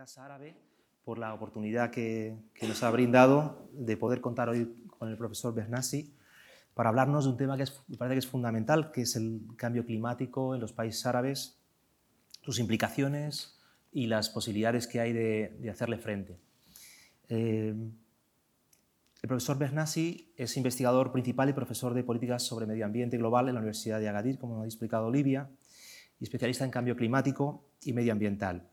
Casa Árabe por la oportunidad que nos ha brindado de poder contar hoy con el profesor Bernassi para hablarnos de un tema que me parece que es fundamental, que es el cambio climático en los países árabes, sus implicaciones y las posibilidades que hay de hacerle frente. El profesor Bernassi es investigador principal y profesor de políticas sobre medio ambiente global en la Universidad de Agadir, como ha explicado Olivia, y especialista en cambio climático y medioambiental.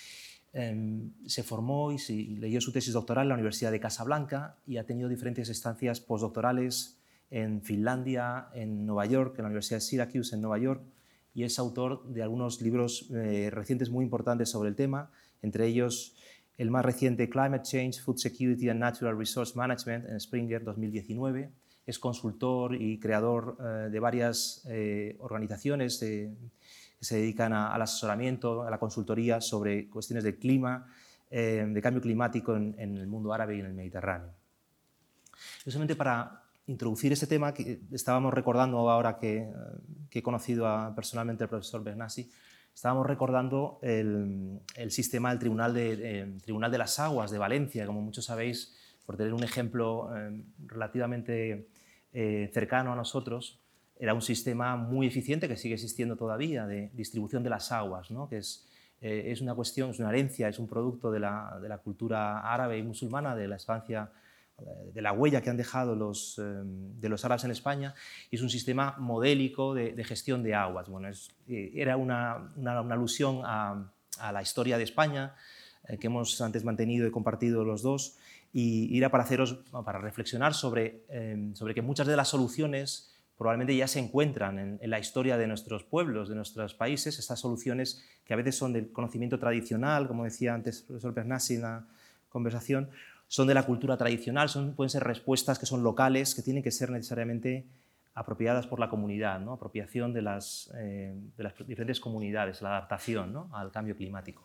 Se formó y leyó su tesis doctoral en la Universidad de Casablanca y ha tenido diferentes estancias postdoctorales en Finlandia, en Nueva York, en la Universidad de Syracuse en Nueva York, y es autor de algunos libros recientes muy importantes sobre el tema, entre ellos el más reciente Climate Change, Food Security and Natural Resource Management en Springer 2019. Es consultor y creador de varias organizaciones que se dedican al asesoramiento, a la consultoría sobre cuestiones de clima, de cambio climático en el mundo árabe y en el Mediterráneo. Justamente para introducir este tema, que estábamos recordando ahora que he conocido personalmente al profesor Bernassi, estábamos recordando el sistema del Tribunal de las Aguas de Valencia, como muchos sabéis, por tener un ejemplo relativamente cercano a nosotros. Era un sistema muy eficiente que sigue existiendo todavía de distribución de las aguas, ¿no? Que es una cuestión, es una herencia, es un producto de la cultura árabe y musulmana, de la estancia, de la huella que han dejado de los árabes en España, y es un sistema modélico de gestión de aguas. Bueno, era una alusión a la historia de España que hemos antes mantenido y compartido los dos, y era para reflexionar sobre que muchas de las soluciones probablemente ya se encuentran en la historia de nuestros pueblos, de nuestros países, estas soluciones que a veces son del conocimiento tradicional, como decía antes el profesor Bernassi en la conversación, son de la cultura tradicional, pueden ser respuestas que son locales, que tienen que ser necesariamente apropiadas por la comunidad, ¿no? Apropiación de las diferentes comunidades, la adaptación, ¿no?, al cambio climático.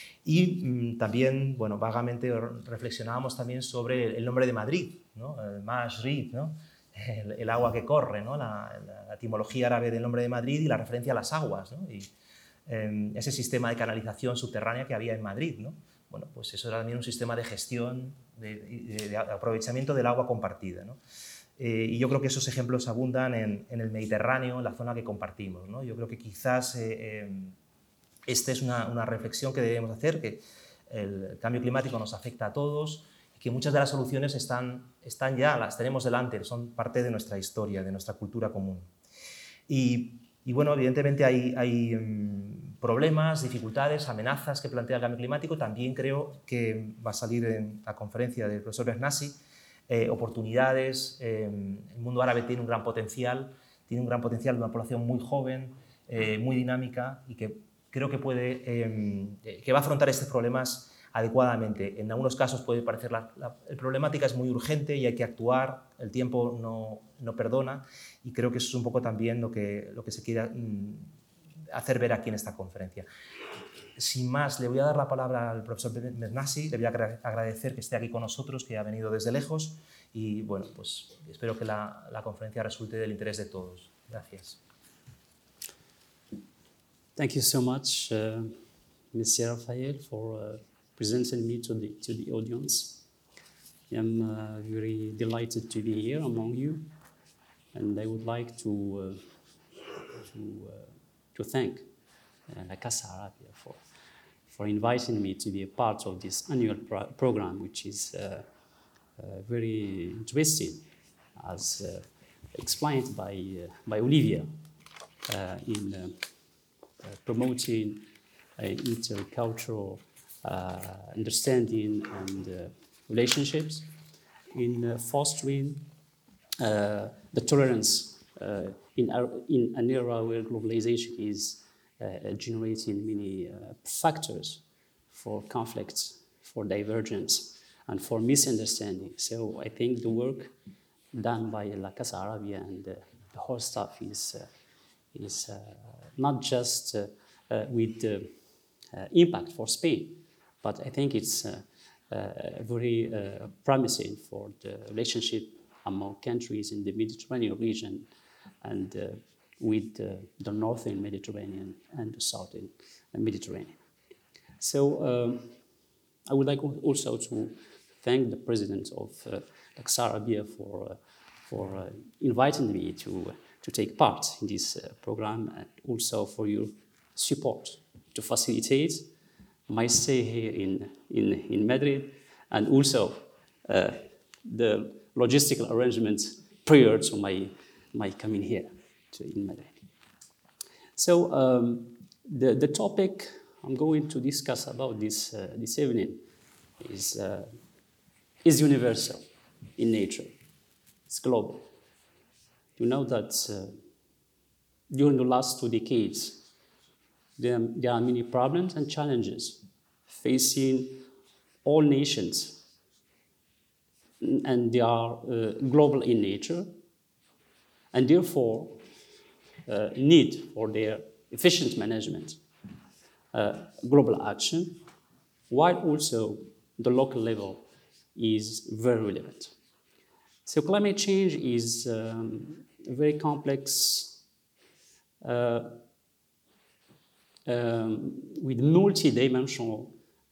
Y también, bueno, vagamente reflexionábamos también sobre el nombre de Madrid, ¿no?, Masrid, ¿no?, el agua que corre, ¿no?, la etimología árabe del nombre de Madrid y la referencia a las aguas, ¿no?, y ese sistema de canalización subterránea que había en Madrid, ¿no? Bueno, pues eso era también un sistema de gestión, de aprovechamiento del agua compartida, ¿no? Y yo creo que esos ejemplos abundan en el Mediterráneo, en la zona que compartimos, ¿no? Yo creo que quizás esta es una reflexión que debemos hacer, que el cambio climático nos afecta a todos, que muchas de las soluciones están ya, las tenemos delante, son parte de nuestra historia, de nuestra cultura común. Y bueno, evidentemente hay problemas, dificultades, amenazas que plantea el cambio climático. También creo que va a salir en la conferencia del profesor Bernassi oportunidades. El mundo árabe tiene un gran potencial de una población muy joven, muy dinámica, y que creo que va a afrontar estos problemas adecuadamente. En algunos casos puede parecer la problemática es muy urgente y hay que actuar, el tiempo no perdona, y creo que eso es un poco también lo que se quiere hacer ver aquí en esta conferencia. Sin más, le voy a dar la palabra al profesor Bernassi, le voy a agradecer que esté aquí con nosotros, que ha venido desde lejos, y bueno, pues espero que la conferencia resulte del interés de todos. Gracias. Thank you so much, Mr. Rafael, for presenting me to the audience. I'm very delighted to be here among you, and I would like to thank La Casa Arabia for inviting me to be a part of this annual program, which is very interesting, as explained by Olivia, in promoting intercultural understanding and relationships, in fostering the tolerance in an era where globalization is generating many factors for conflicts, for divergence, and for misunderstanding. So I think the work done by La Casa Arabia and the whole staff is not just with impact for Spain, but I think it's very promising for the relationship among countries in the Mediterranean region and with the northern Mediterranean and the southern Mediterranean. So I would like also to thank the president of Laksar Abia for inviting me to take part in this program, and also for your support to facilitate my stay here in Madrid, and also the logistical arrangements prior to my coming here in Madrid. So the topic I'm going to discuss about this evening is universal in nature. It's global. You know that during the last 2 decades, there are many problems and challenges facing all nations, and they are global in nature, and therefore need for their efficient management, global action, while also the local level is very relevant. So climate change is a very complex with multi-dimensional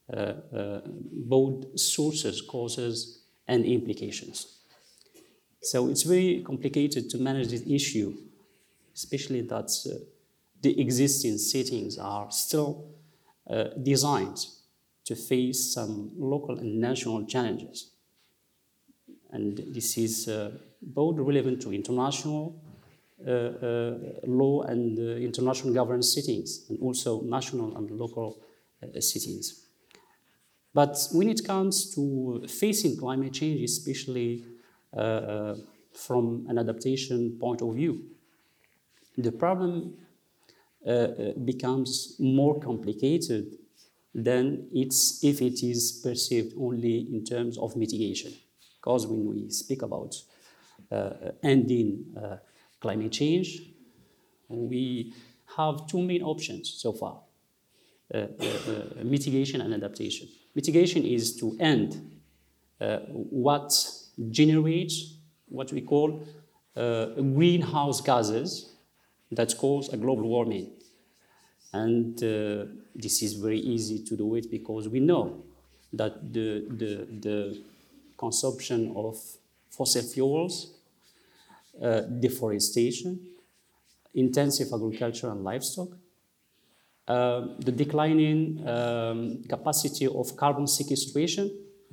both sources, causes, and implications. So it's very complicated to manage this issue, especially that the existing settings are still designed to face some local and national challenges. And this is both relevant to international law and international governance settings, and also national and local settings. But when it comes to facing climate change, especially from an adaptation point of view, the problem becomes more complicated than if it is perceived only in terms of mitigation. Because when we speak about ending climate change, we have two main options so far, mitigation and adaptation. Mitigation is to end what generates what we call greenhouse gases that cause a global warming. And this is very easy to do it because we know that the consumption of fossil fuels, deforestation, intensive agriculture and livestock, the declining capacity of carbon sequestration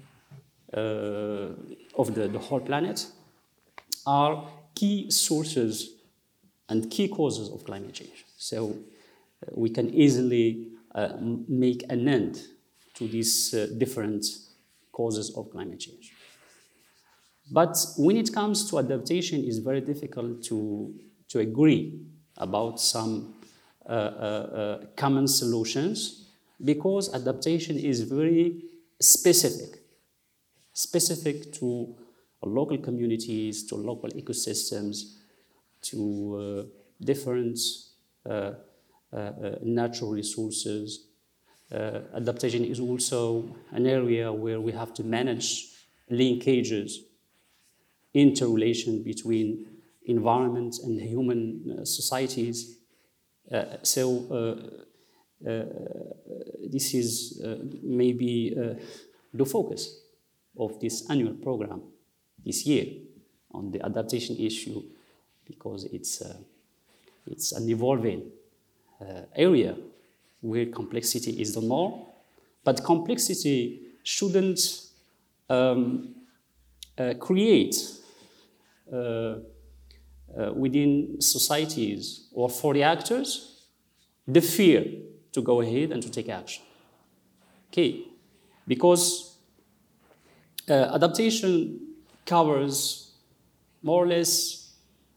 of the whole planet are key sources and key causes of climate change. So we can easily make an end to these different causes of climate change. But when it comes to adaptation, it's very difficult to agree about some common solutions, because adaptation is very specific to local communities, to local ecosystems, to different natural resources. Adaptation is also an area where we have to manage linkages, interrelation between environment and human societies. This is maybe the focus of this annual program this year on the adaptation issue, because it's an evolving area where complexity is the norm, but complexity shouldn't create within societies or for the actors the fear to go ahead and to take action. Okay, because adaptation covers more or less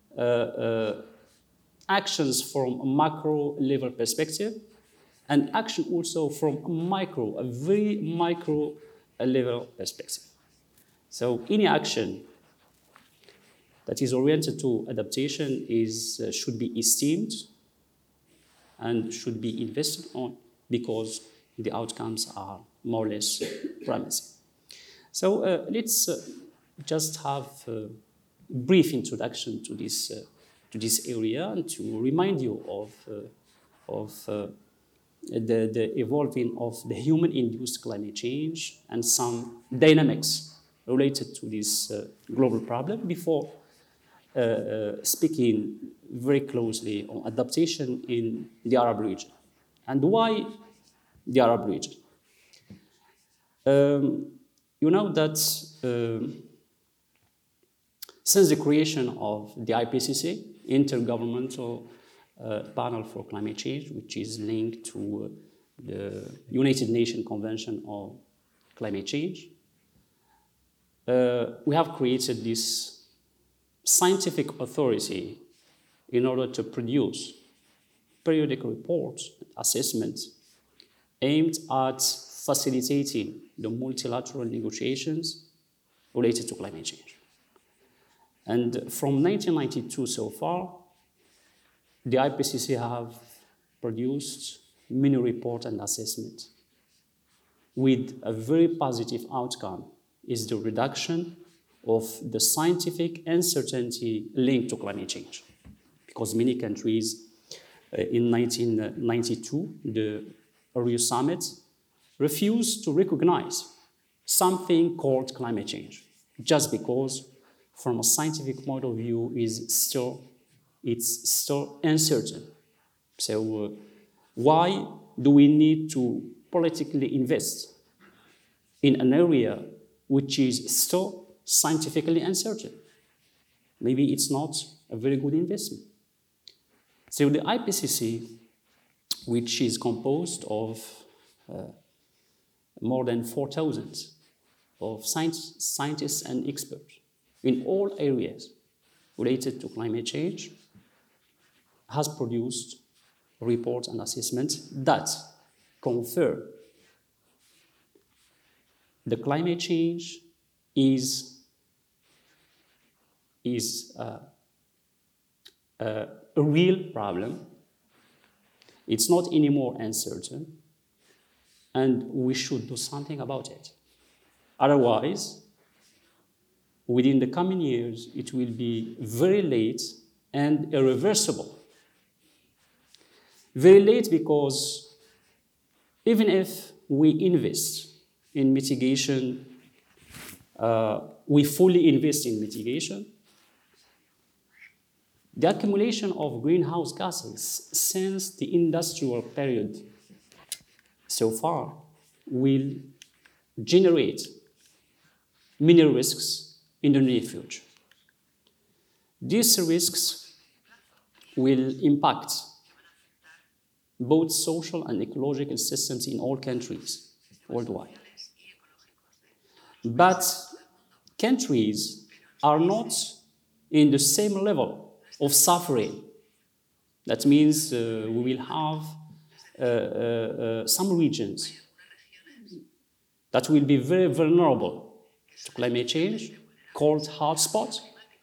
actions from a macro level perspective, and action also from a very micro level perspective. So any action that is oriented to adaptation should be esteemed and should be invested on, because the outcomes are more or less promising. So let's just have a brief introduction to this area, and to remind you of the evolving of the human-induced climate change and some dynamics related to this global problem before speaking very closely on adaptation in the Arab region. And why the Arab region? You know that since the creation of the IPCC, Intergovernmental Panel for Climate Change, which is linked to the United Nations Convention on Climate Change, we have created this scientific authority in order to produce periodic reports, assessments aimed at facilitating the multilateral negotiations related to climate change. And from 1992 so far, the IPCC have produced many reports and assessments with a very positive outcome is the reduction of the scientific uncertainty linked to climate change. Because many countries in 1992, the Rio Summit, refused to recognize something called climate change, just because from a scientific point of view it's still uncertain. So why do we need to politically invest in an area which is still scientifically uncertain? Maybe it's not a very good investment. So the IPCC, which is composed of more than 4,000 of scientists and experts in all areas related to climate change, has produced reports and assessments that confirm the climate change is a real problem. It's not anymore uncertain, and we should do something about it. Otherwise, within the coming years, it will be very late and irreversible. Very late because even if we invest in mitigation, we fully invest in mitigation, the accumulation of greenhouse gases since the industrial period so far will generate many risks in the near future. These risks will impact both social and ecological systems in all countries worldwide. But countries are not in the same level of suffering. That means we will have some regions that will be very vulnerable to climate change, called hotspots,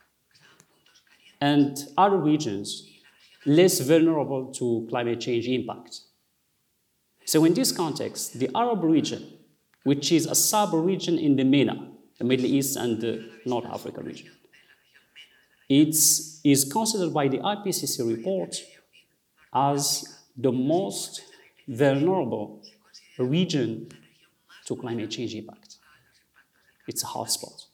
and other regions less vulnerable to climate change impact. So in this context, the Arab region, which is a sub-region in the MENA, the Middle East and the North Africa region, it is considered by the IPCC report as the most vulnerable region to climate change impact. It's a hotspot.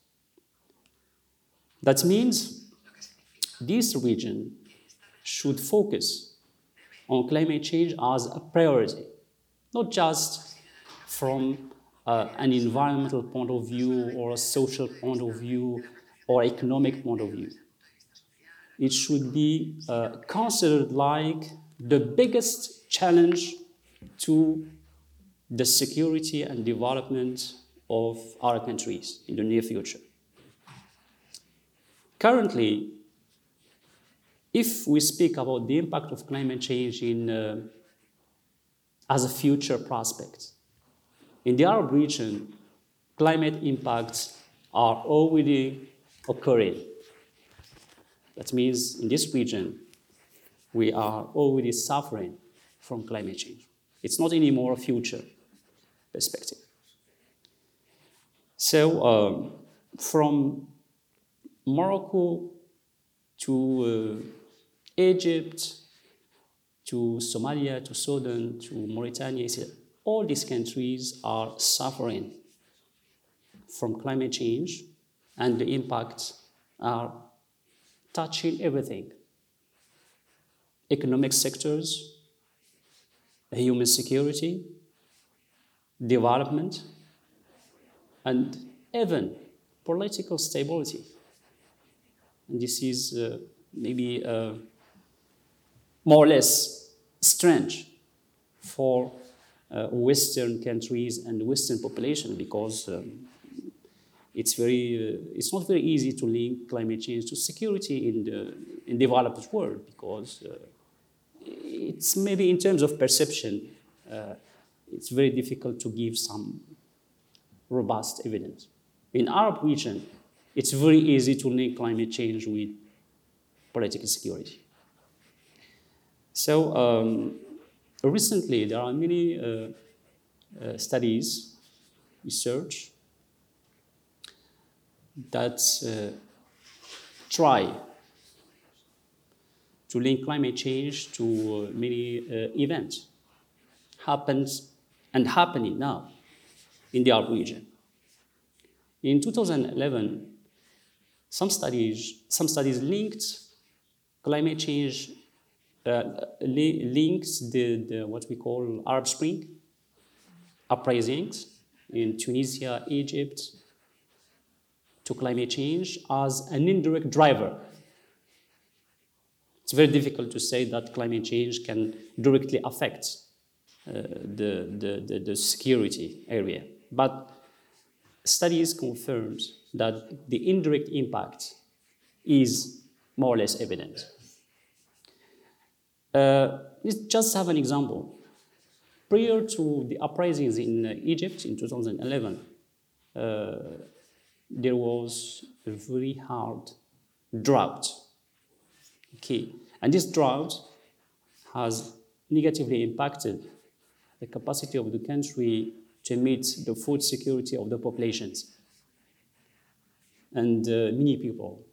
That means this region should focus on climate change as a priority, not just from an environmental point of view or a social point of view or economic point of view. It should be considered like the biggest challenge to the security and development of our countries in the near future. Currently, if we speak about the impact of climate change as a future prospect, in the Arab region, climate impacts are already occurring. That means in this region, we are already suffering from climate change. It's not anymore a future perspective. So from Morocco to Egypt, to Somalia, to Sudan, to Mauritania, all these countries are suffering from climate change, and the impacts are touching everything. Economic sectors, human security, development, and even political stability. And this is maybe more or less strange for Western countries and Western population, because it's not very easy to link climate change to security in the developed world, because it's maybe in terms of perception, it's very difficult to give some robust evidence. In Arab region, it's very easy to link climate change with political security. So recently, there are many studies, research, that try to link climate change to many events happening now in the Arab region. In 2011, some studies linked climate change, linked the what we call Arab Spring uprisings in Tunisia, Egypt, to climate change as an indirect driver. It's very difficult to say that climate change can directly affect the security area, but studies confirms that the indirect impact is more or less evident. Let's just have an example. Prior to the uprisings in Egypt in 2011, there was a very hard drought. Okay, and this drought has negatively impacted the capacity of the country to meet the food security of the populations. And many people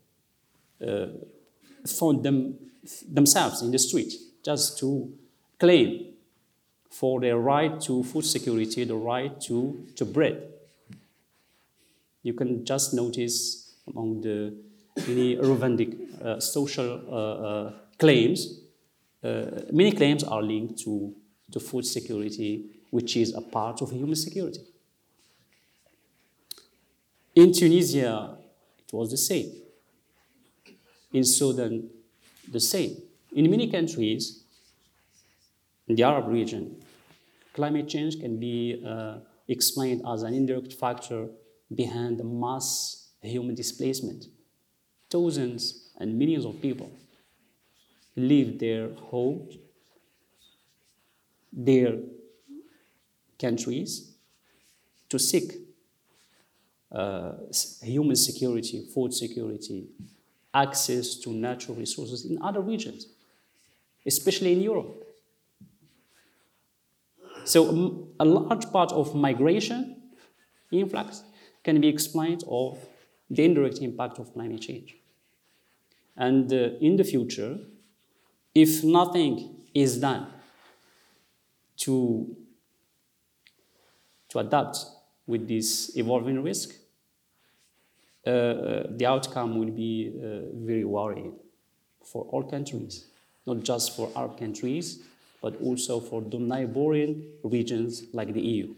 found themselves in the street just to claim for their right to food security, the right to bread. You can just notice among the many Rwandic social claims, many claims are linked to food security, which is a part of human security. In Tunisia, it was the same. In Sudan, the same. In many countries in the Arab region, climate change can be explained as an indirect factor behind the mass human displacement. Thousands and millions of people leave their homes, their countries, to seek human security, food security, access to natural resources in other regions, especially in Europe. So a large part of migration influx can be explained of the indirect impact of climate change. And in the future, if nothing is done to adapt with this evolving risk, the outcome will be very worrying for all countries, not just for Arab countries, but also for the neighboring regions like the EU.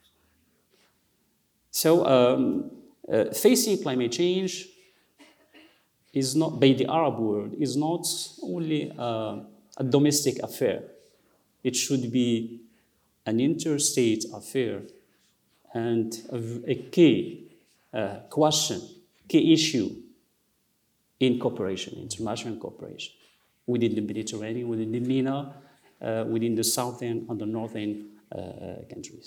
So facing climate change is not, by the Arab world, is not only a domestic affair. It should be an interstate affair and a key question, key issue in cooperation, international cooperation, within the Mediterranean, within the MENA, within the southern and the northern countries.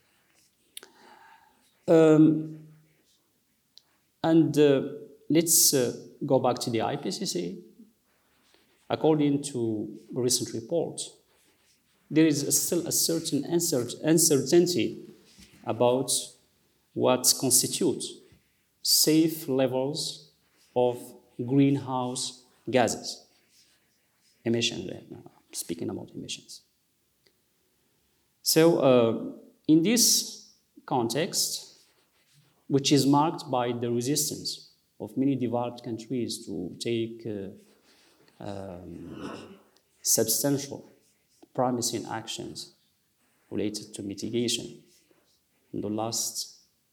Let's go back to the IPCC. According to a recent report, there is still a certain uncertainty about what constitutes safe levels of greenhouse gases emission. speaking about emissions. So in this context, which is marked by the resistance of many developed countries to take substantial, promising actions related to mitigation. In the last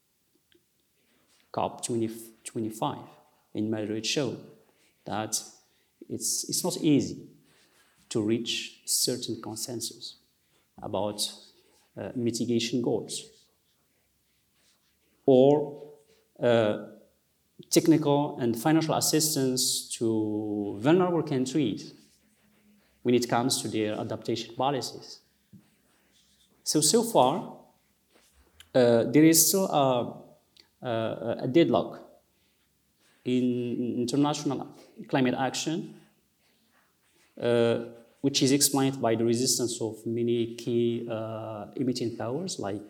COP 25 in Madrid showed that it's not easy to reach certain consensus about mitigation goals or technical and financial assistance to vulnerable countries when it comes to their adaptation policies. So far, there is still a deadlock in international climate action, which is explained by the resistance of many key emitting powers like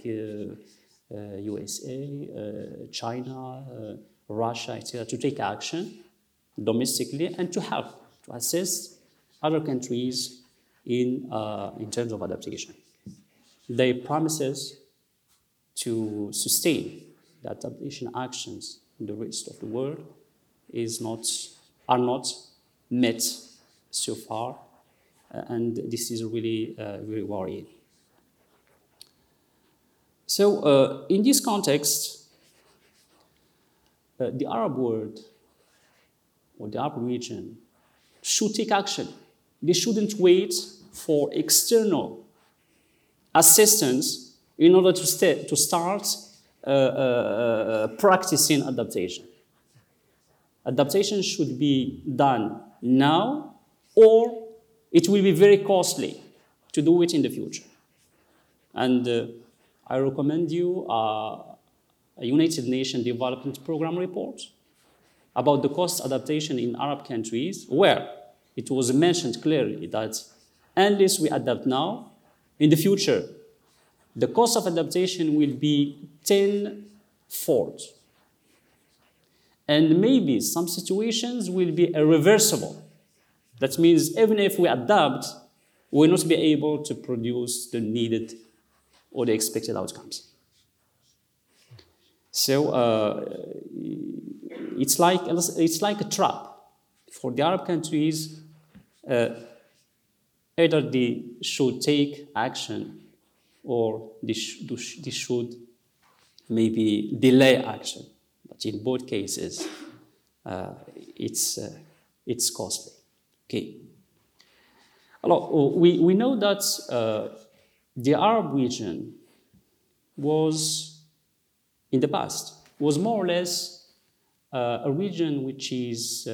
USA, China, Russia, etc., to take action domestically and to help to assist other countries in terms of adaptation. They promises to sustain the adaptation actions in the rest of the world are not met so far, and this is really very worrying. So in this context, the Arab world or the Arab region should take action. They shouldn't wait for external assistance in order to start practicing adaptation. Adaptation should be done now, or it will be very costly to do it in the future. And I recommend you a United Nations Development Program report about the cost adaptation in Arab countries, where it was mentioned clearly that unless we adapt now, in the future, the cost of adaptation will be tenfold. And maybe some situations will be irreversible. That means even if we adapt, we will not be able to produce the needed or the expected outcomes. So it's like a trap for the Arab countries. Either they should take action or they should maybe delay action. But in both cases, it's costly. Okay. Alors, we know that the Arab region was, in the past, was more or less a region which is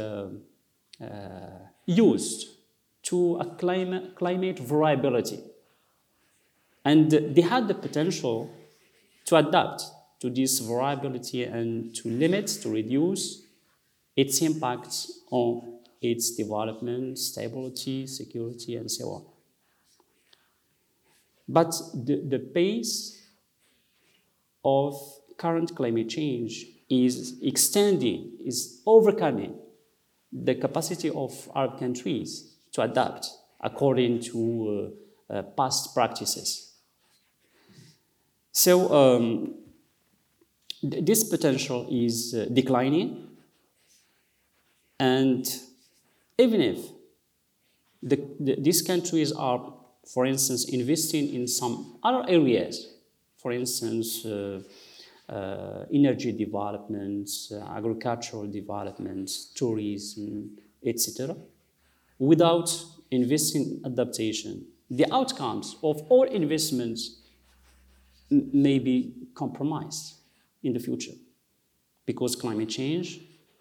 used to a climate variability. And they had the potential to adapt to this variability and to limit, to reduce its impacts on its development, stability, security, and so on. But the pace of current climate change is extending, is overcoming the capacity of Arab countries to adapt according to past practices. So this potential is declining, and even if these countries are, for instance, investing in some other areas, for instance, energy development, agricultural development, tourism, etc., without investing in adaptation, the outcomes of all investments may be compromised in the future, because climate change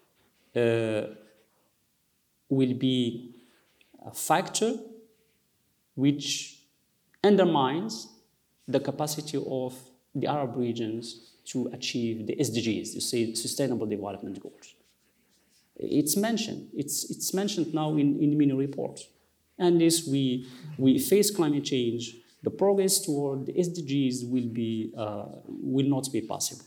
will be a factor which undermines the capacity of the Arab regions to achieve the SDGs, the Sustainable Development Goals. It's mentioned now in many reports. Unless we face climate change, the progress toward the SDGs will not be possible.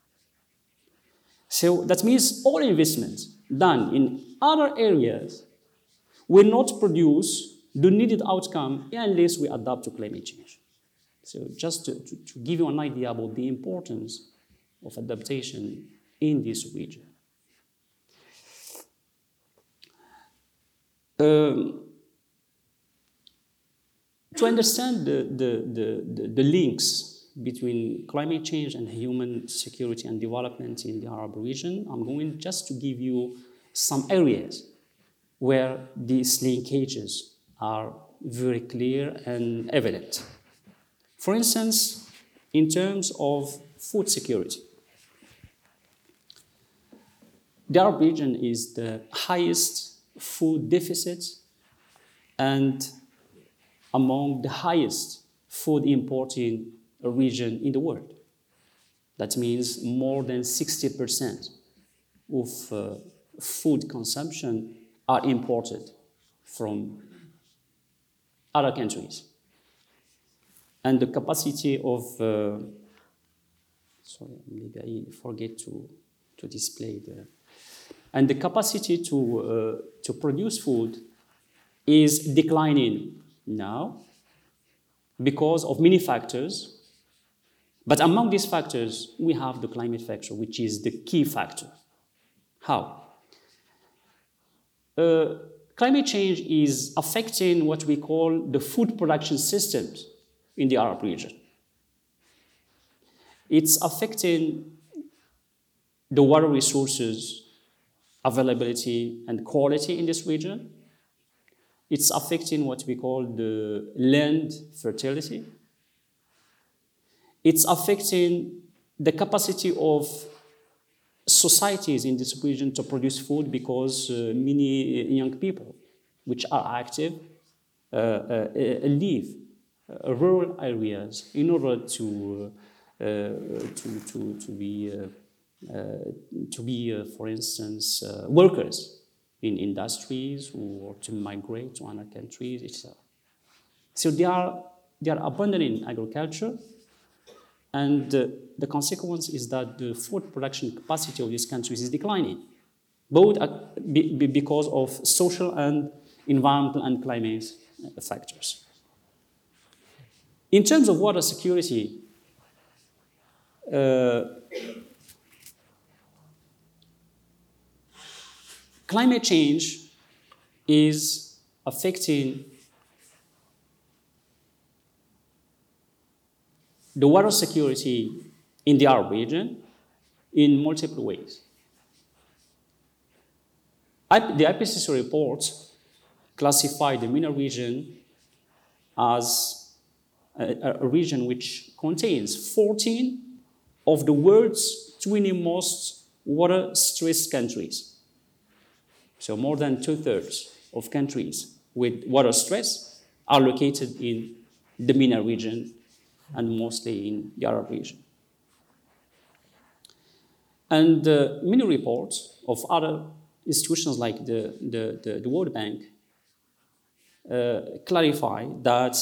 So that means all investments done in other areas will not produce the needed outcome unless we adapt to climate change. So just to give you an idea about the importance of adaptation in this region. To understand the links between climate change and human security and development in the Arab region, I'm going just to give you some areas where these linkages are very clear and evident. For instance, in terms of food security, the Arab region is the highest food deficit and among the highest food importing region in the world. That means more than 60% of food consumption are imported from other countries. And the capacity of, sorry, maybe I forget to display the, and the capacity to produce food is declining now because of many factors. But among these factors, we have the climate factor, which is the key factor. How? Climate change is affecting what we call the food production systems in the Arab region. It's affecting the water resources availability and quality in this region. It's affecting what we call the land fertility. It's affecting the capacity of societies in this region to produce food because many young people which are active live rural areas in order to be, for instance, workers in industries or to migrate to other countries, etc. So they are abandoning agriculture, and the consequence is that the food production capacity of these countries is declining, both because of social and environmental and climate factors. In terms of water security, climate change is affecting the water security in the Arab region in multiple ways. The IPCC report classified the MENA region as a region which contains 14 of the world's 20 most water-stressed countries. So more than 2/3 of countries with water stress are located in the MENA region and mostly in the Arab region. And many reports of other institutions like the World Bank clarify that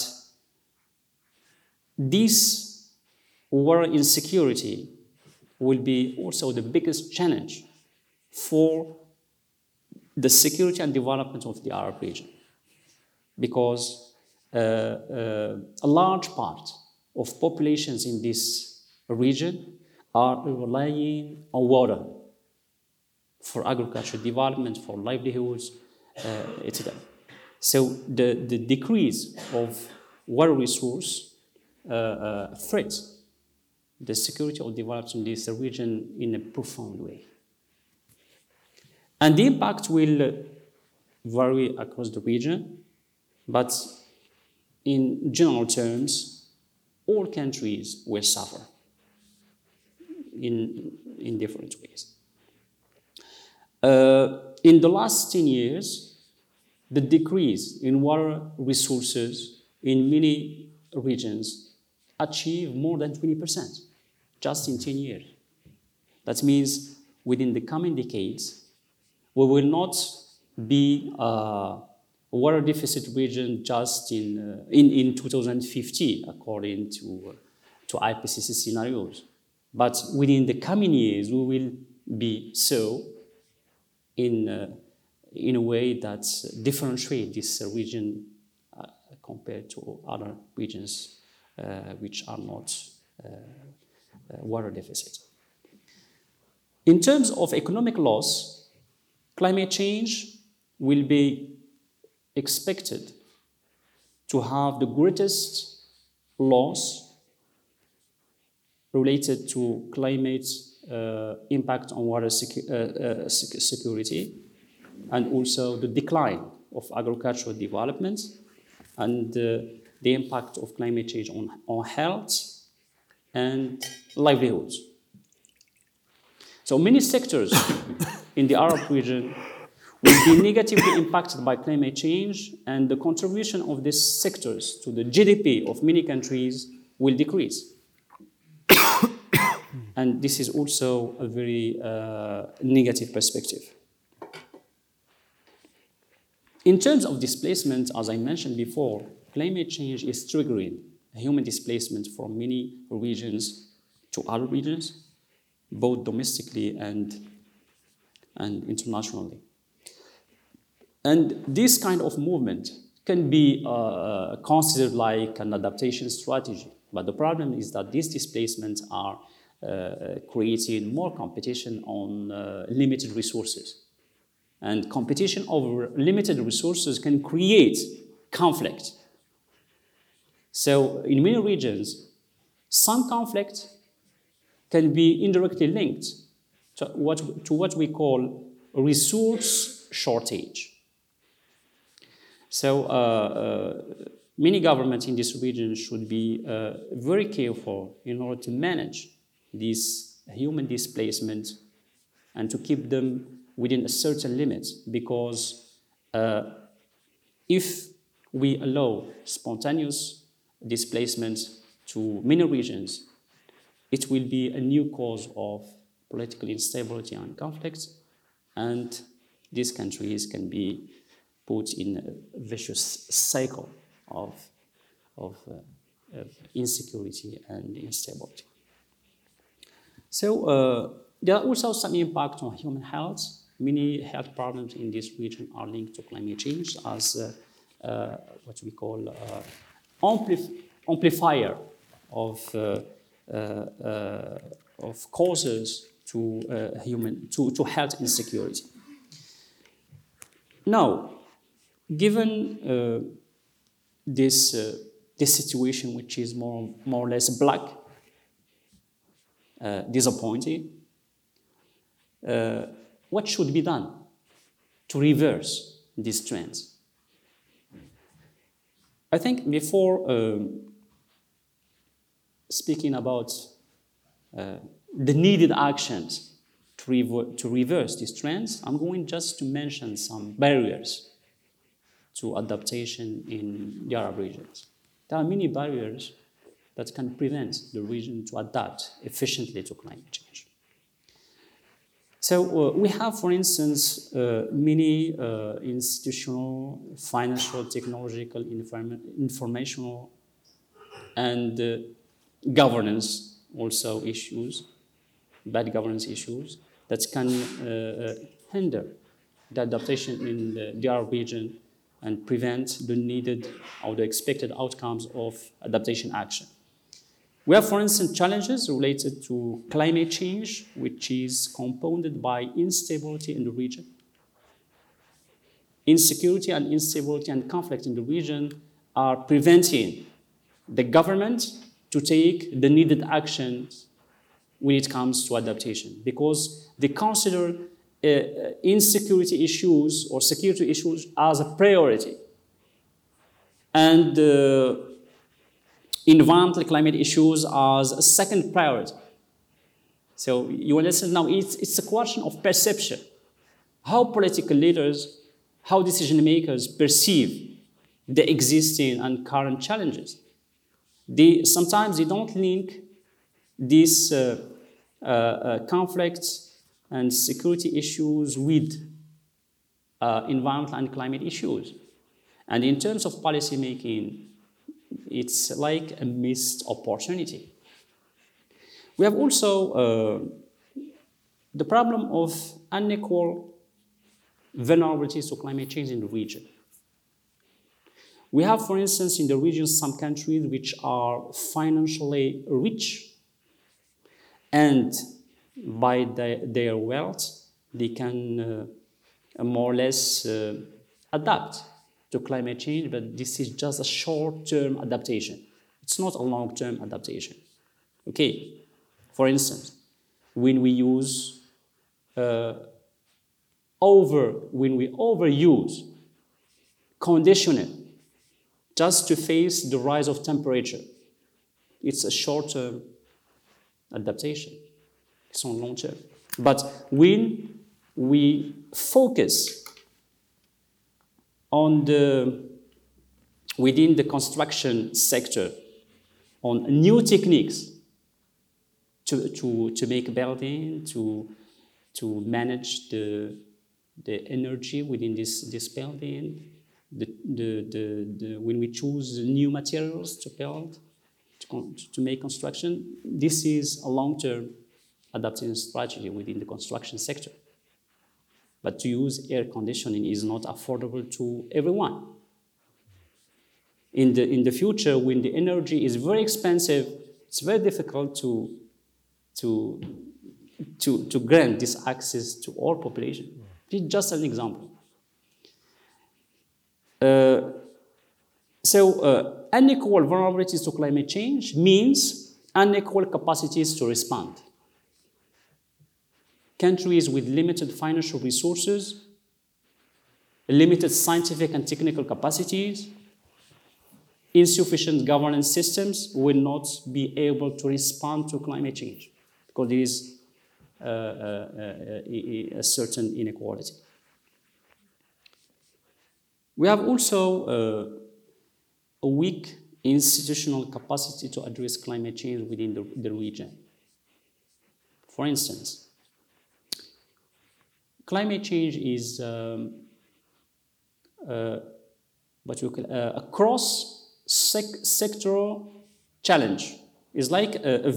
this water insecurity will be also the biggest challenge for the security and development of the Arab region, because a large part of populations in this region are relying on water for agriculture development, for livelihoods, etc. So the decrease of water resource threats the security of development in this region in a profound way. And the impact will vary across the region, but in general terms, all countries will suffer in different ways. In the last 10 years, the decrease in water resources in many regions achieved more than 20%, just in 10 years. That means within the coming decades, we will not be a water deficit region just in 2050, according to IPCC scenarios. But within the coming years, we will be so in a way that differentiates this region compared to other regions which are not water deficit. In terms of economic loss, climate change will be expected to have the greatest loss related to climate impact on water security, and also the decline of agricultural development and the impact of climate change on health and livelihoods. So many sectors in the Arab region will be negatively impacted by climate change, and the contribution of these sectors to the GDP of many countries will decrease. And this is also a very negative perspective. In terms of displacement, as I mentioned before, climate change is triggering human displacement from many regions to other regions, both domestically and internationally. And this kind of movement can be considered like an adaptation strategy. But the problem is that these displacements are creating more competition on limited resources. And competition over limited resources can create conflict. So in many regions, some conflict can be indirectly linked to what we call resource shortage. So many governments in this region should be very careful in order to manage this human displacement and to keep them within a certain limit, because if we allow spontaneous displacement to many regions, it will be a new cause of political instability and conflict, and these countries can be put in a vicious cycle of insecurity and instability. So there are also some impact on human health. Many health problems in this region are linked to climate change as what we call amplifier of causes to health insecurity. Now, given this situation, which is more or less black, disappointing, what should be done to reverse these trends? I think before speaking about the needed actions to reverse these trends, I'm going just to mention some barriers to adaptation in the Arab regions. There are many barriers that can prevent the region to adapt efficiently to climate change. So we have, for instance, many institutional, financial, technological, informational, and governance also issues, bad governance issues, that can hinder the adaptation in the Arab region and prevent the needed or the expected outcomes of adaptation action. We have, for instance, challenges related to climate change, which is compounded by instability in the region. Insecurity and instability and conflict in the region are preventing the government to take the needed actions when it comes to adaptation, because they consider insecurity issues or security issues as a priority. And environmental climate issues as a second priority. So you understand now, it's a question of perception. How political leaders, how decision makers perceive the existing and current challenges. Sometimes they don't link these conflicts and security issues with environmental and climate issues. And in terms of policy making, it's like a missed opportunity. We have also the problem of unequal vulnerabilities to climate change in the region. We have, for instance, in the region some countries which are financially rich, and by their wealth, they can more or less adapt to climate change, but this is just a short-term adaptation. It's not a long-term adaptation. Okay, for instance, when we use when we overuse conditioning just to face the rise of temperature, it's a short-term adaptation. It's on long term. But when we focus on within the construction sector on new techniques to make building, to manage the energy within this building, when we choose new materials to build, to make construction, this is a long-term adaptation strategy within the construction sector. But to use air conditioning is not affordable to everyone. In the future, when the energy is very expensive, it's very difficult to grant this access to all population. It's just an example. Unequal vulnerabilities to climate change means unequal capacities to respond. Countries with limited financial resources, limited scientific and technical capacities, insufficient governance systems will not be able to respond to climate change because there is a certain inequality. We have also a weak institutional capacity to address climate change within the region. For instance, climate change is what you call a cross-sectoral challenge. It's like a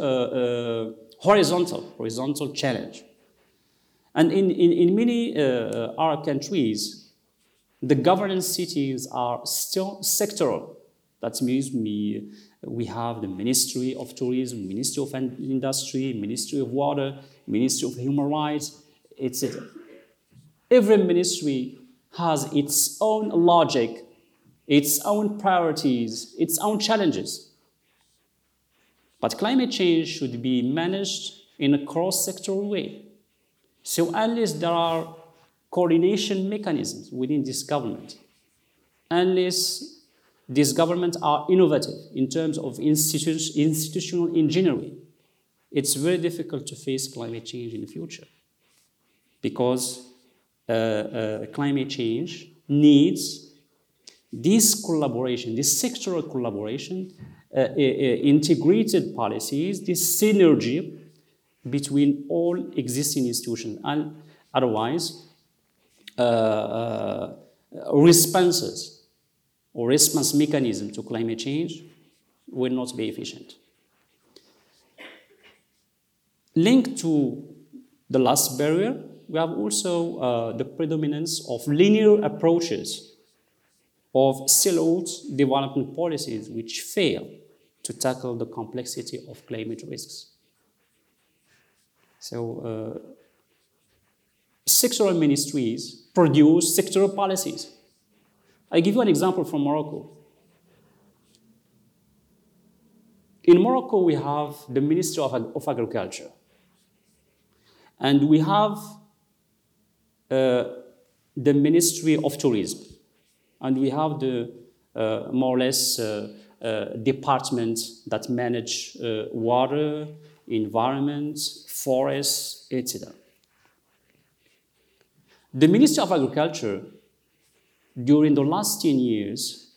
horizontal challenge. And in many Arab countries, the governance cities are still sectoral. That means we have the Ministry of Tourism, Ministry of Industry, Ministry of Water, Ministry of Human Rights, etc. Every ministry has its own logic, its own priorities, its own challenges. But climate change should be managed in a cross-sectoral way. So unless there are coordination mechanisms within this government, unless these governments are innovative in terms of institutional engineering, it's very difficult to face climate change in the future. Because climate change needs this collaboration, this sectoral collaboration, integrated policies, this synergy between all existing institutions. And otherwise, responses or response mechanism to climate change will not be efficient. Linked to the last barrier, we have also the predominance of linear approaches of siloed development policies which fail to tackle the complexity of climate risks. So, sectoral ministries produce sectoral policies. I give you an example from Morocco. In Morocco, we have the Ministry of Agriculture. And we have the Ministry of Tourism. And we have the more or less departments that manage water, environment, forests, etc. The Ministry of Agriculture, during the last 10 years,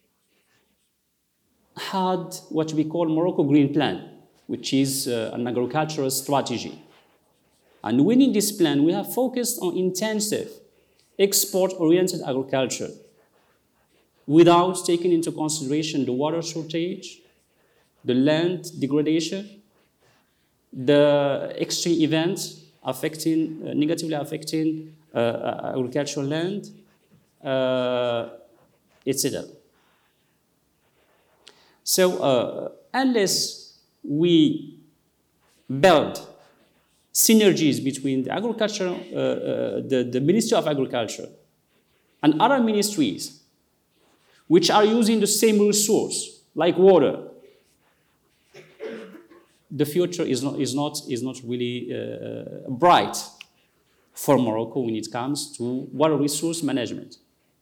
had what we call Morocco Green Plan, which is an agricultural strategy. And within this plan, we have focused on intensive, export-oriented agriculture without taking into consideration the water shortage, the land degradation, the extreme events negatively affecting agricultural land, etc. So unless we build synergies between the agriculture, the Ministry of Agriculture and other ministries which are using the same resource, like water, the future is not really bright for Morocco when it comes to water resource management.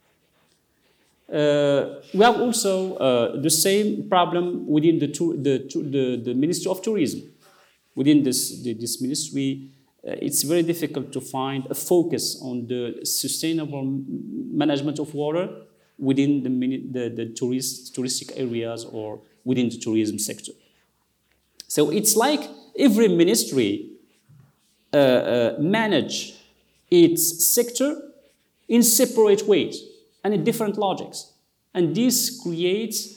We have also the same problem within the Ministry of Tourism. Within this ministry, it's very difficult to find a focus on the sustainable management of water within the touristic areas or within the tourism sector. So it's like every ministry manage its sector in separate ways and in different logics. And this creates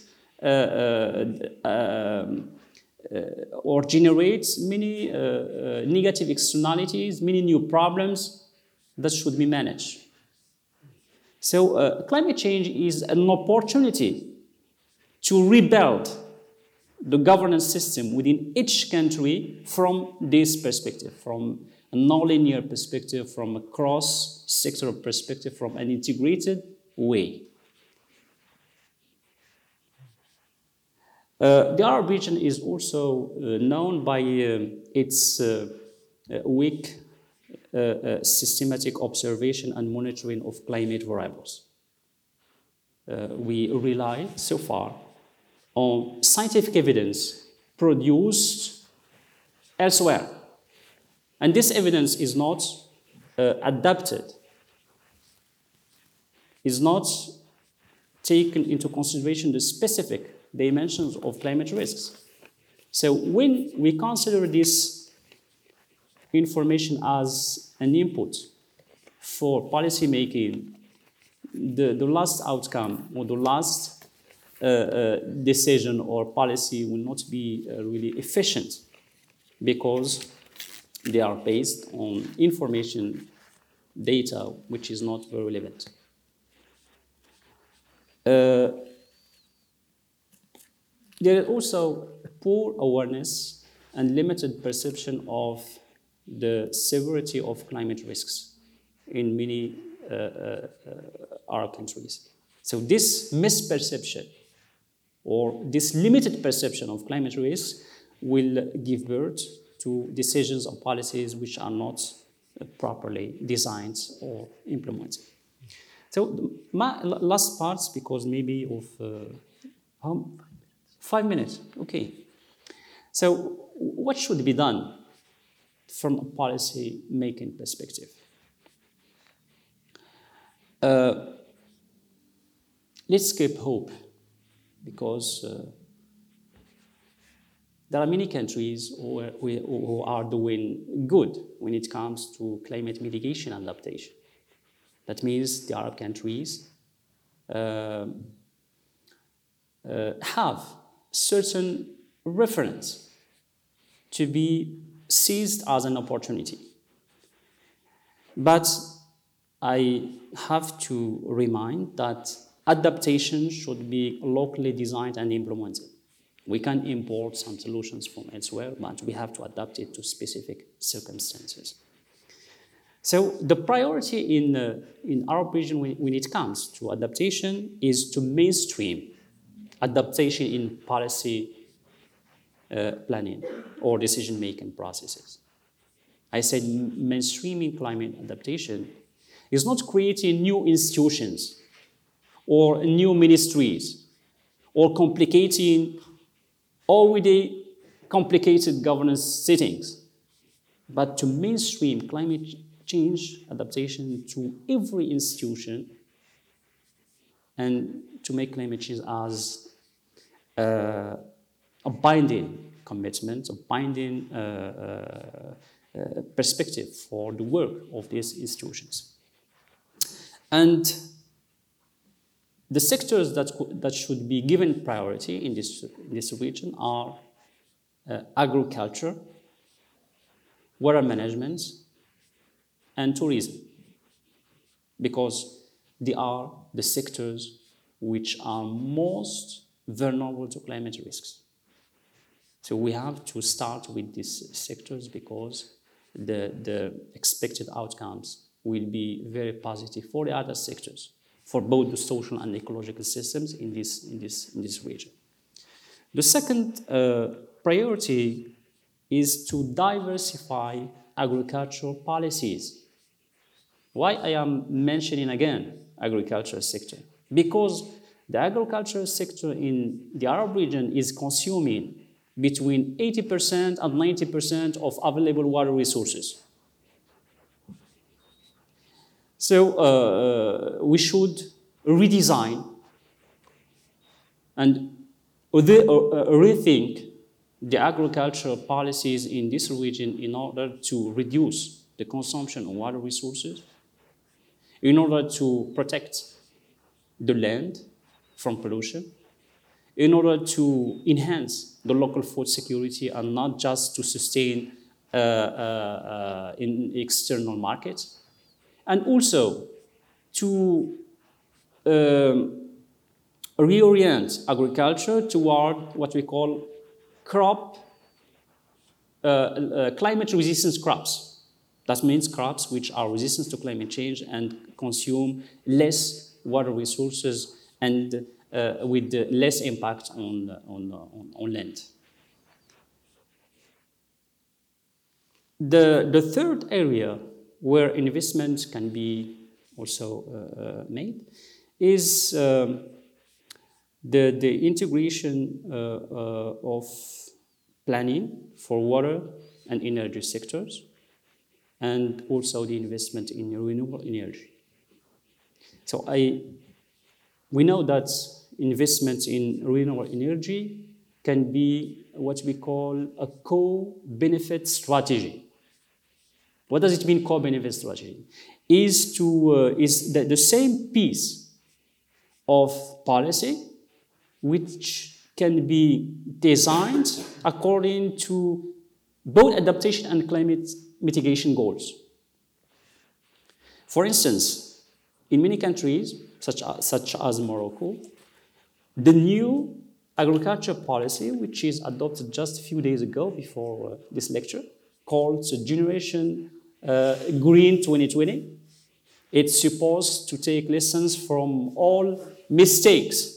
or generates many negative externalities, many new problems that should be managed. So climate change is an opportunity to rebuild the governance system within each country from this perspective, from a non-linear perspective, from a cross-sectoral perspective, from an integrated way. The Arab region is also known by its weak systematic observation and monitoring of climate variables. We rely so far on scientific evidence produced elsewhere. And this evidence is not adapted, is not taken into consideration the specific dimensions of climate risks. So when we consider this information as an input for policy making, the last outcome or the last decision or policy will not be really efficient because they are based on information, data, which is not very relevant. There is also poor awareness and limited perception of the severity of climate risks in many Arab countries. So this misperception or this limited perception of climate risks will give birth to decisions or policies which are not properly designed or implemented. So my last parts, because maybe of 5 minutes, okay. So what should be done from a policy making perspective? Let's keep hope, because there are many countries who are doing good when it comes to climate mitigation and adaptation. That means the Arab countries have certain reference to be seized as an opportunity. But I have to remind that adaptation should be locally designed and implemented. We can import some solutions from elsewhere, but we have to adapt it to specific circumstances. So the priority in our region when it comes to adaptation is to mainstream adaptation in policy planning or decision-making processes. I said mainstreaming climate adaptation is not creating new institutions or new ministries or complicating already complicated governance settings, but to mainstream climate change adaptation to every institution and to make climate change as a binding commitment, a binding perspective for the work of these institutions. And the sectors that should be given priority in this region are agriculture, water management, and tourism, because they are the sectors which are most vulnerable to climate risks. So we have to start with these sectors because the expected outcomes will be very positive for the other sectors, for both the social and ecological systems in this region. The second priority is to diversify agricultural policies. Why I am mentioning again agricultural sector? Because the agricultural sector in the Arab region is consuming between 80% and 90% of available water resources. So we should redesign and rethink the agricultural policies in this region in order to reduce the consumption of water resources, in order to protect the land from pollution, in order to enhance the local food security and not just to sustain in external markets, and also to reorient agriculture toward what we call climate resistance crops. That means crops which are resistant to climate change and consume less water resources and with less impact on land. The third area where investment can be also made is the integration of planning for water and energy sectors, and also the investment in renewable energy. So we know that investment in renewable energy can be what we call a co-benefit strategy. What does it mean, co-benefit strategy? Is the same piece of policy which can be designed according to both adaptation and climate mitigation goals. For instance, in many countries, such as Morocco, the new agriculture policy, which is adopted just a few days ago before this lecture, called Generation Green 2020, it's supposed to take lessons from all mistakes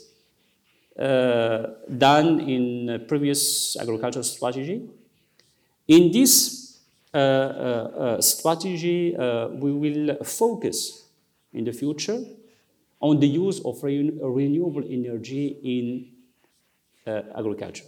done in previous agricultural strategy. In this strategy, we will focus in the future on the use of renewable energy in agriculture.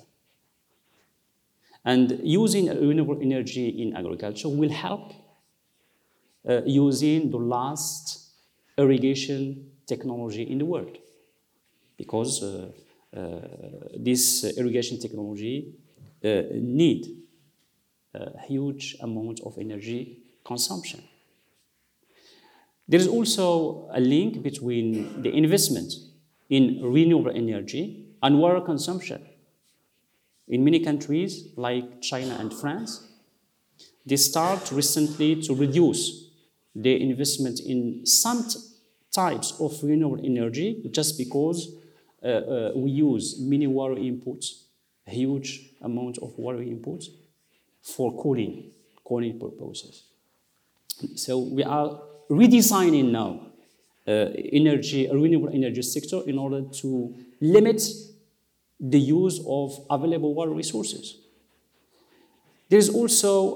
And using renewable energy in agriculture will help using the last irrigation technology in the world, because this irrigation technology need a huge amount of energy consumption. There is also a link between the investment in renewable energy and water consumption. In many countries, like China and France, they start recently to reduce their investment in some types of renewable energy just because we use many water inputs, a huge amount of water inputs for cooling purposes. So we are redesigning now renewable energy sector in order to limit the use of available water resources. There is also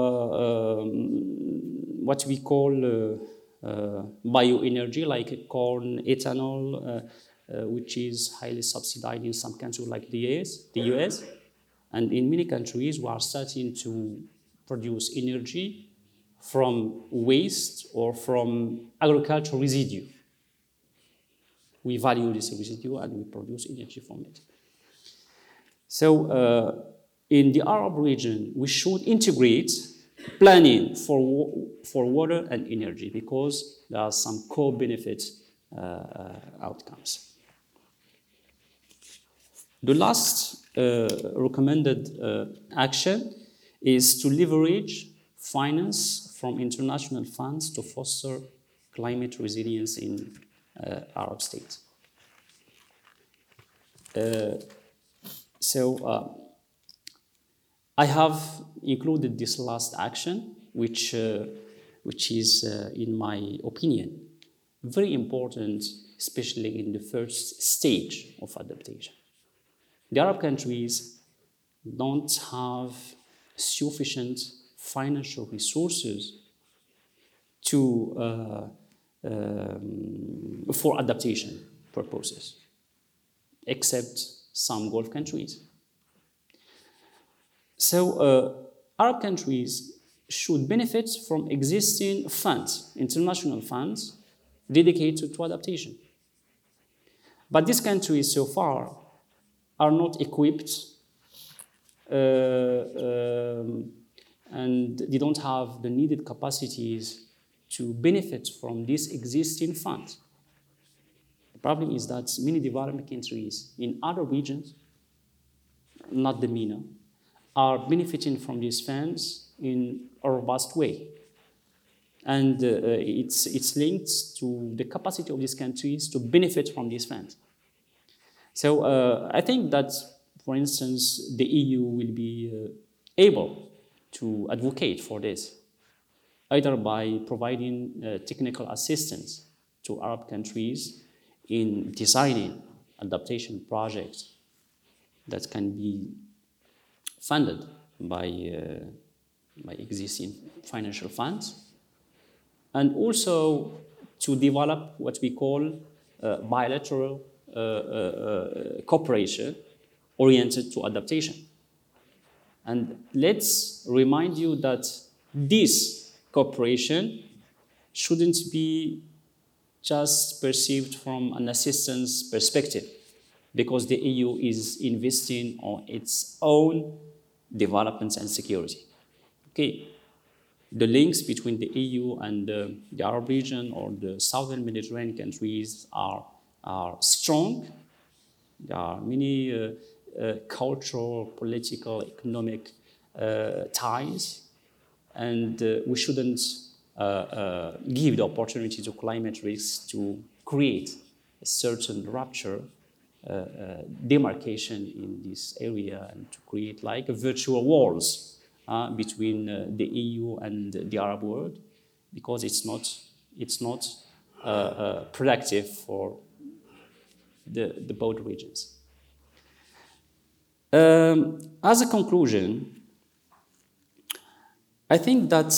what we call bioenergy, like corn, ethanol, which is highly subsidized in some countries like the US. And in many countries, we are starting to produce energy from waste or from agricultural residue. We value this residue and we produce energy from it. So in the Arab region, we should integrate planning for water and energy because there are some co-benefit outcomes. The last recommended action is to leverage finance from international funds to foster climate resilience in Arab states. I have included this last action, which is, in my opinion, very important, especially in the first stage of adaptation. The Arab countries don't have sufficient financial resources for adaptation purposes, except some Gulf countries. So Arab countries should benefit from existing funds, international funds, dedicated to adaptation. But these countries so far are not equipped and they don't have the needed capacities to benefit from these existing funds. The problem is that many developing countries in other regions, not the MENA, are benefiting from these funds in a robust way. And it's linked to the capacity of these countries to benefit from these funds. So I think that, for instance, the EU will be able to advocate for this, either by providing technical assistance to Arab countries in designing adaptation projects that can be funded by existing financial funds, and also to develop what we call bilateral cooperation oriented to adaptation. And let's remind you that this cooperation shouldn't be just perceived from an assistance perspective, because the EU is investing on its own development and security. Okay, the links between the EU and the Arab region or the southern Mediterranean countries are strong. There are many cultural, political, economic ties, and we shouldn't give the opportunity to climate risks to create a certain rupture, demarcation in this area, and to create like virtual walls between the EU and the Arab world, because it's not productive for the both regions. As a conclusion, I think that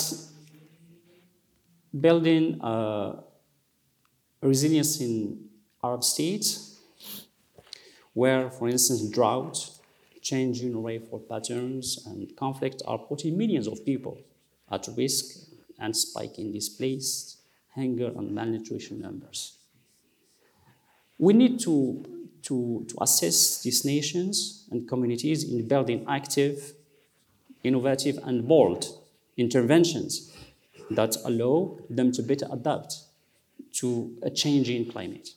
building resilience in Arab states, where, for instance, drought, changing rainfall patterns, and conflict are putting millions of people at risk and spiking displaced, hunger, and malnutrition numbers. We need to assess these nations and communities in building active, innovative, and bold interventions that allow them to better adapt to a changing climate.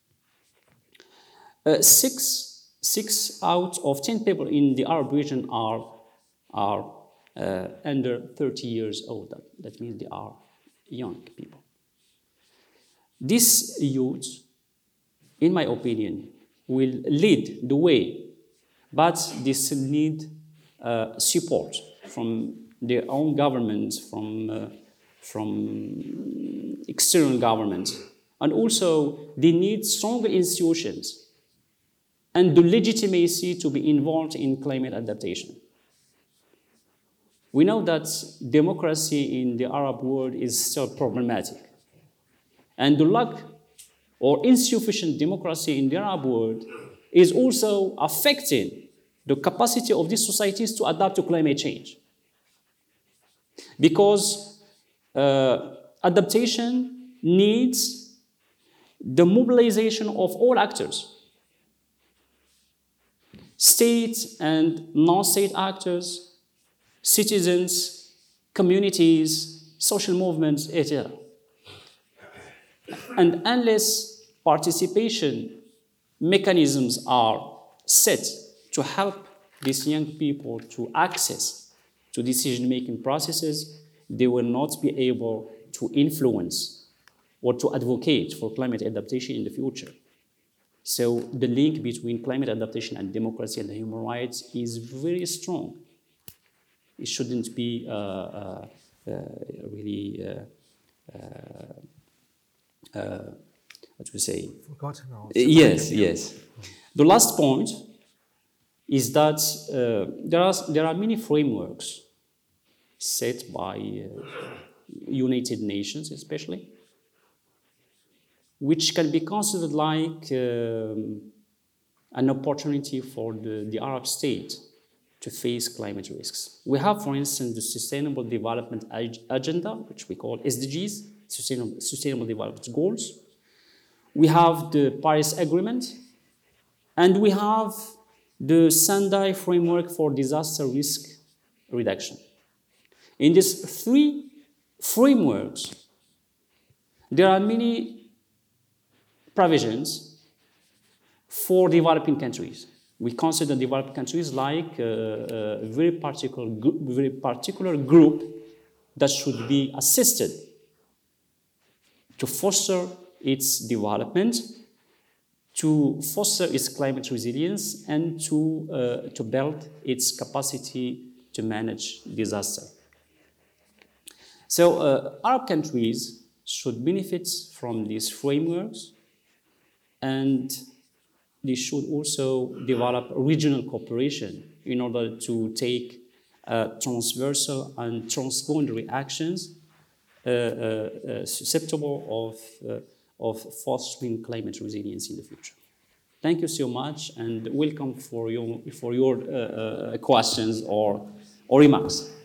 6 out of 10 people in the Arab region are under 30 years old. That means they are young people. These youth, in my opinion, will lead the way, but they still need support from their own government, from external government, and also they need stronger institutions and the legitimacy to be involved in climate adaptation. We know that democracy in the Arab world is still problematic, and the lack or insufficient democracy in the Arab world is also affecting the capacity of these societies to adapt to climate change. Because adaptation needs the mobilization of all actors, state and non-state actors, citizens, communities, social movements, etc. And unless participation mechanisms are set to help these young people to access to decision-making processes, they will not be able to influence or to advocate for climate adaptation in the future. So the link between climate adaptation and democracy and human rights is very strong. It shouldn't be really, what we say? Forgotten or Yes, yes. The last point is that there are many frameworks set by United Nations, especially, which can be considered like an opportunity for the Arab state to face climate risks. We have, for instance, the Sustainable Development Agenda, which we call SDGs, Sustainable Development Goals. We have the Paris Agreement, and we have the Sendai Framework for Disaster Risk Reduction. In these three frameworks, there are many provisions for developing countries. We consider developing countries like a very particular group that should be assisted to foster its development, to foster its climate resilience, and to build its capacity to manage disaster. So Arab countries should benefit from these frameworks, and they should also develop regional cooperation in order to take transversal and transboundary actions susceptible of fostering climate resilience in the future. Thank you so much, and welcome for your questions or remarks.